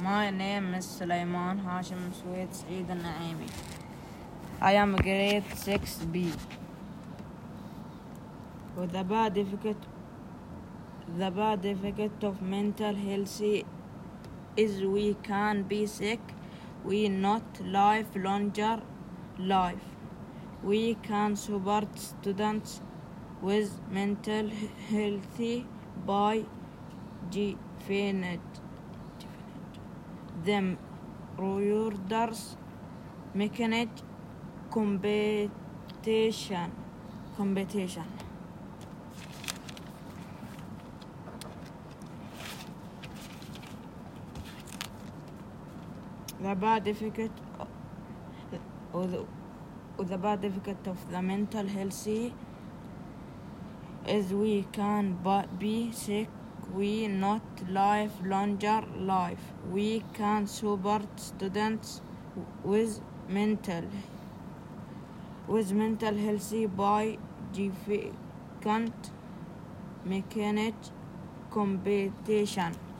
My name is Sulaiman Hashim Sweet Saeed Naimi. I am grade 6B. With the bad effect of mental health is we can be sick, we not live longer life. We can support students with mental health by defining them rewards mechanism competition. The bad effect of the mental health is we can be sick, we not live longer life. We can support students with mental health by defining mechanism competition.